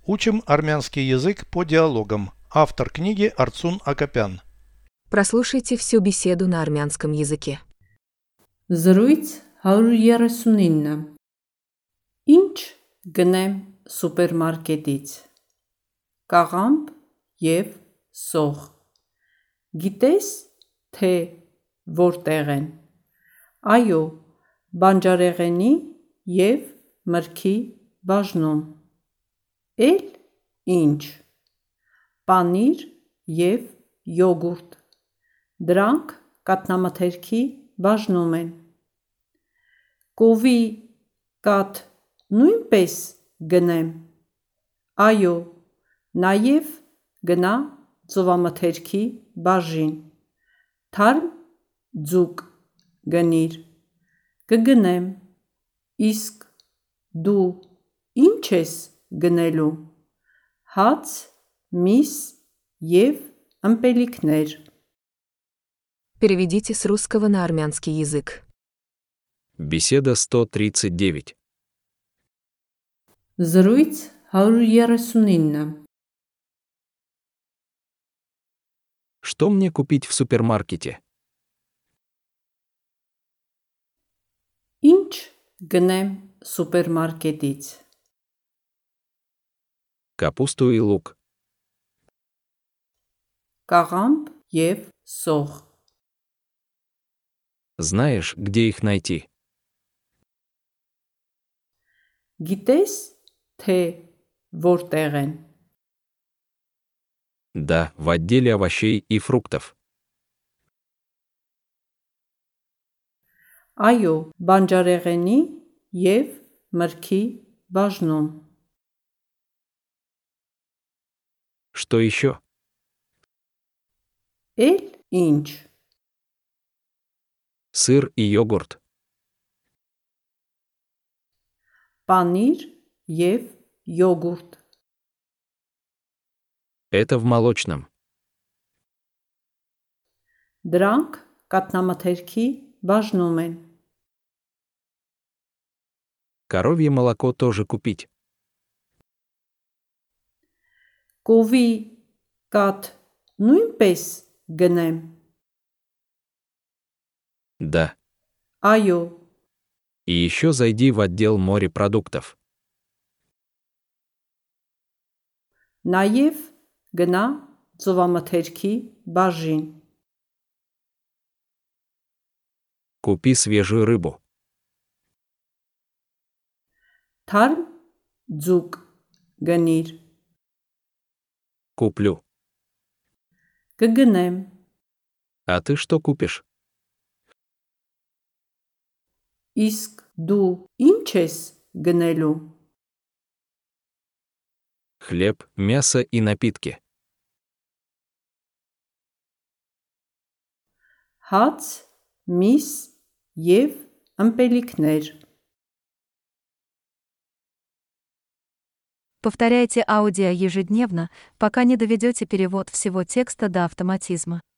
Учим армянский язык по диалогам. Автор книги Арцун Акопян. Прослушайте всю беседу на армянском языке. Զրույց 139 Ինչ գնեմ սուպերմարկետից Կաղամբ և սող Գիտես, թե որտեղ են Այո, բանջարեղենի և մրգի բաժնում Էլ ինչ Պանիր և յոգուրտ Դրանք կաթնամթերքի բաժնում են Կովի կաթ նույնպես գնեմ Այո, նաև գնա ծովամթերքի բաժին Թարմ ձուկ գնիր Կգնեմ Իսկ դու ինչ ես գնելու Հաց, միս և ըմպելիքներ Переведите с русского на армянский язык. Беседа 139. Զրույց 139 Что мне купить в супермаркете? Ինչ գնեմ սուպերմարկետից Капусту и лук. Կաղամբ և սող Знаешь, где их найти? Գիտես, թե որտեղ են Да, в отделе овощей и фруктов. Այո, բանջարեղենի և մրգի բաժնում Что еще? Էլ ինչ Сыр и йогурт. Պանիր և յոգուրտ Это в молочном. Դրանք կաթնամթերքի բաժնում են Коровье молоко тоже купить. Կովի կաթ նույնպես գնեմ Да. Այո, И еще зайди в отдел морепродуктов. նաև գնա ծովամթերքի բաժին Купи свежую рыбу. Թարմ ձուկ գնիր Куплю. Կգնեմ А ты что купишь? Իսկ դու ինչ ես գնելու Хлеб, мясо и напитки. Հաց, միս և ըմպելիքներ Повторяйте аудио ежедневно, пока не доведете перевод всего текста до автоматизма.